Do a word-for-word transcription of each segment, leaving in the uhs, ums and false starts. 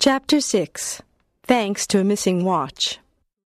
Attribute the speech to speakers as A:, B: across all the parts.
A: Chapter six. Thanks to a Missing Watch.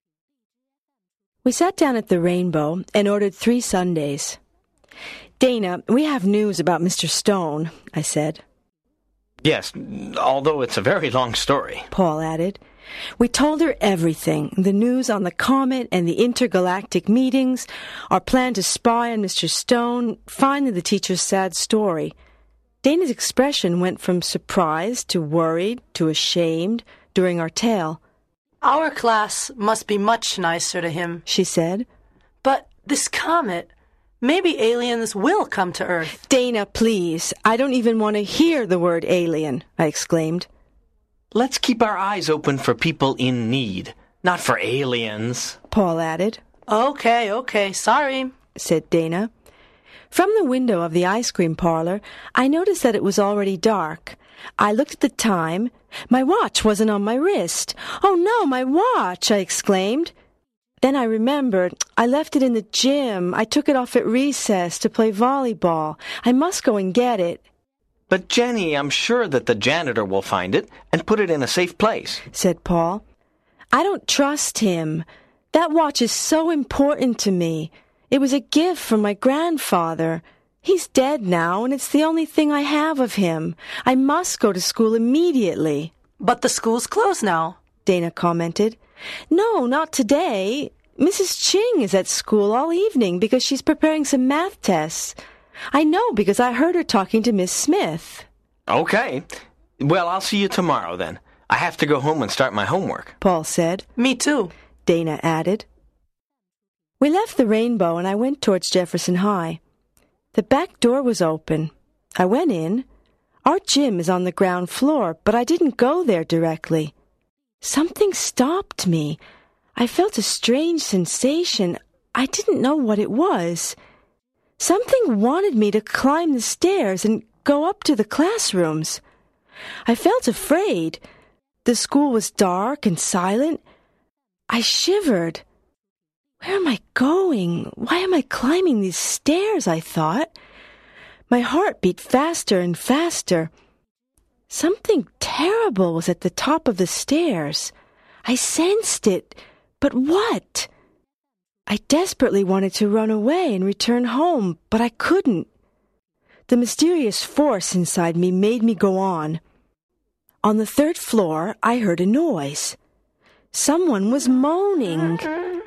A: We sat down at the Rainbow and ordered three sundaes. "Dana, we have news about Mister Stone," I said.
B: "Yes, although it's a very long story,"
A: Paul added. We told her everything, the news on the comet and the intergalactic meetings, our plan to spy on Mister Stone, finally the teacher's sad story. Dana's expression went from surprised to worried to ashamed during our tale.
C: "Our class must be much nicer to him,"
A: she said.
C: "But this comet, maybe aliens will come to Earth."
A: "Dana, please, I don't even want to hear the word alien," I exclaimed.
B: "Let's keep our eyes open for people in need, not for aliens,"
A: Paul added.
C: "Okay, okay, sorry," said
A: Dana. From the window of the ice cream parlor, I noticed that it was already dark. I looked at the time. My watch wasn't on my wrist. "Oh no, my watch!" I exclaimed. Then I remembered. I left it in the gym. I took it off at recess to play volleyball. I must go and get it.
B: "But Jenny, I'm sure that the janitor will find it and put it in a safe place,"
A: said Paul. "I don't trust him. That watch is so important to me. It was a gift from my grandfather. He's dead now, and it's the only thing I have of him. I must go to school immediately."
C: "But the school's closed now,"
A: Dana commented. "No, not today. Missus Ching is at school all evening because she's preparing some math tests. I know because I heard her talking to Miss Smith."
B: "Okay. Well, I'll see you tomorrow then. I have to go home and start my homework,"
A: Paul said.
C: "Me too,"
A: Dana added. We left the Rainbow and I went towards Jefferson High. The back door was open. I went in. Our gym is on the ground floor, but I didn't go there directly. Something stopped me. I felt a strange sensation. I didn't know what it was. Something wanted me to climb the stairs and go up to the classrooms. I felt afraid. The school was dark and silent. I shivered. Where am I going? Why am I climbing these stairs? I thought. My heart beat faster and faster. Something terrible was at the top of the stairs. I sensed it. But what? I desperately wanted to run away and return home, but I couldn't. The mysterious force inside me made me go on. On the third floor, I heard a noise. Someone was moaning.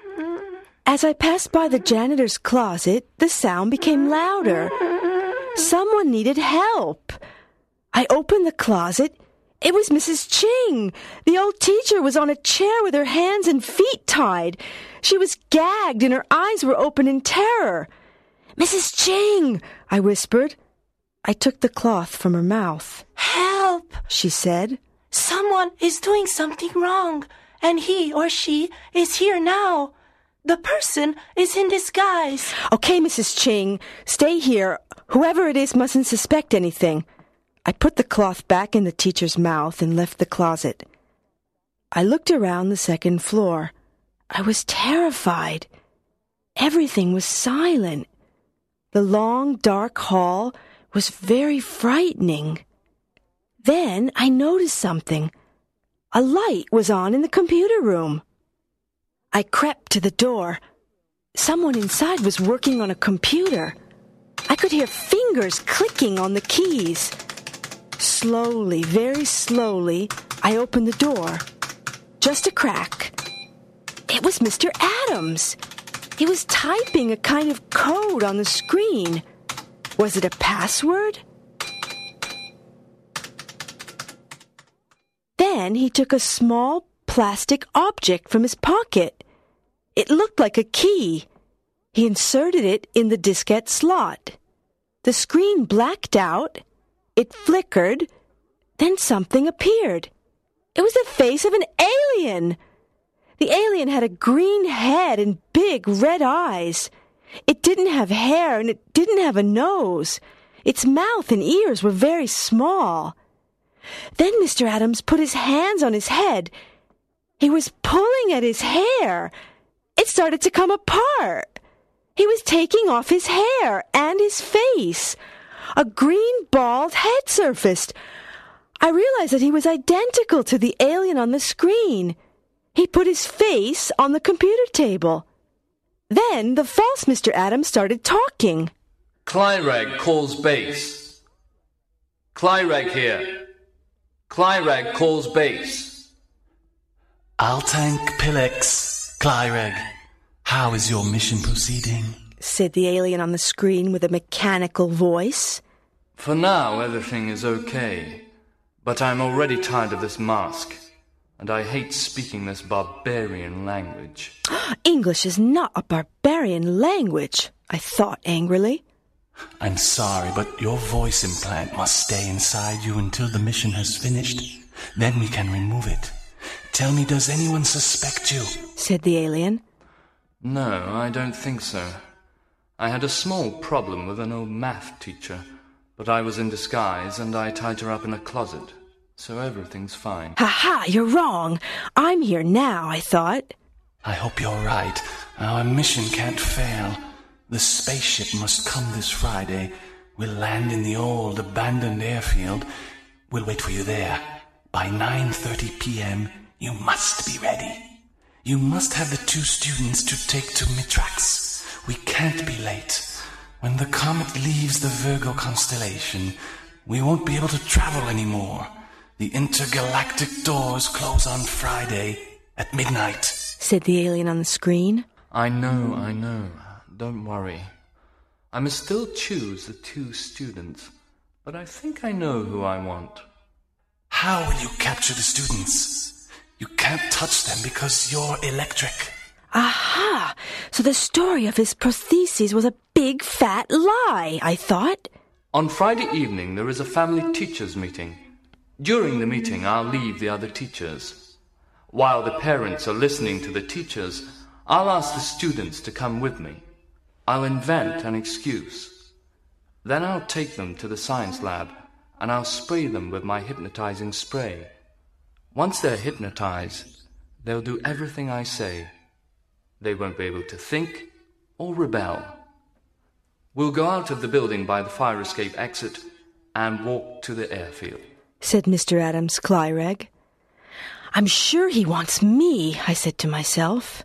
A: As I passed by the janitor's closet, the sound became louder. Someone needed help. I opened the closet. It was Missus Ching. The old teacher was on a chair with her hands and feet tied. She was gagged and her eyes were open in terror. "Missus Ching," I whispered. I took the cloth from her mouth.
C: "Help,"
A: she said.
C: "Someone is doing something wrong, and he or she is here now. The person is in disguise."
A: "Okay, Missus Ching, stay here. Whoever it is mustn't suspect anything." I put the cloth back in the teacher's mouth and left the closet. I looked around the second floor. I was terrified. Everything was silent. The long, dark hall was very frightening. Then I noticed something. A light was on in the computer room. I crept to the door. Someone inside was working on a computer. I could hear fingers clicking on the keys. Slowly, very slowly, I opened the door. Just a crack. It was Mister Adams. He was typing a kind of code on the screen. Was it a password? Then he took a small plastic object from his pocket. It looked like a key. He inserted it in the diskette slot. The screen blacked out. It flickered. Then something appeared. It was the face of an alien. The alien had a green head and big red eyes. It didn't have hair and it didn't have a nose. Its mouth and ears were very small. Then Mister Adams put his hands on his head. He was pulling at his hair. It started to come apart. He was taking off his hair and his face. A green bald head surfaced. I realized that he was identical to the alien on the screen. He put his face on the computer table. Then the false Mister Adams started talking.
D: Clyrag calls base. Clyrag here. Clyrag calls base.
E: Altank Pilex, Clyrag. How is your mission proceeding?
A: Said the alien on the screen with a mechanical voice.
D: For now, everything is okay. But I'm already tired of this mask. And I hate speaking this barbarian language.
A: English is not a barbarian language, I thought angrily.
E: I'm sorry, but your voice implant must stay inside you until the mission has finished. Then we can remove it. Tell me, does anyone suspect you? Said the alien.
D: No, I don't think so. I had a small problem with an old math teacher, but I was in disguise and I tied her up in a closet. So everything's fine.
A: Ha-ha, you're wrong. I'm here now, I thought.
E: I hope you're right. Our mission can't fail. The spaceship must come this Friday. We'll land in the old abandoned airfield. We'll wait for you there. By nine thirty p.m., you must be ready. You must have the two students to take to Mitrax. We can't be late. When the comet leaves the Virgo constellation, we won't be able to travel anymore. The intergalactic doors close on Friday at midnight,
A: said the alien on the screen.
D: I know, I know. Don't worry. I must still choose the two students, but I think I know who I want.
E: How will you capture the students? You can't touch them because you're electric.
A: Aha! So the story of his prostheses was a big fat lie, I thought.
D: On Friday evening there is a family teachers meeting. During the meeting, I'll leave the other teachers. While the parents are listening to the teachers, I'll ask the students to come with me. I'll invent an excuse. Then I'll take them to the science lab, and I'll spray them with my hypnotizing spray. Once they're hypnotized, they'll do everything I say. They won't be able to think or rebel. We'll go out of the building by the fire escape exit and walk to the airfield,
A: said Mister Adams Clyrag. I'm sure he wants me, I said to myself.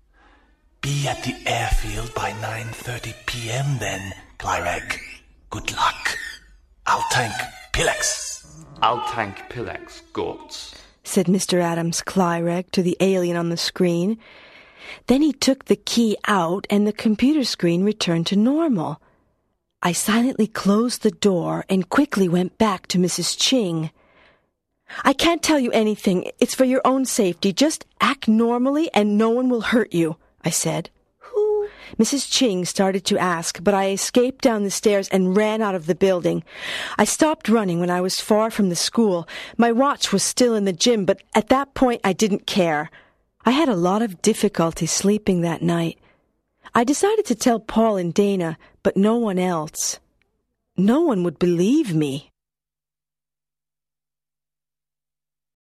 E: Be at the airfield by nine thirty p.m. then, Clyrag. Good luck. Altank Pilex.
D: Altank Pilex, Gortz,
A: said Mister Adams Clyrag to the alien on the screen. Then he took the key out and the computer screen returned to normal. I silently closed the door and quickly went back to Missus Ching. I can't tell you anything. It's for your own safety. Just act normally and no one will hurt you, I said. Who? Missus Ching started to ask, but I escaped down the stairs and ran out of the building. I stopped running when I was far from the school. My watch was still in the gym, but at that point I didn't care. I had a lot of difficulty sleeping that night. I decided to tell Paul and Dana, but no one else. No one would believe me.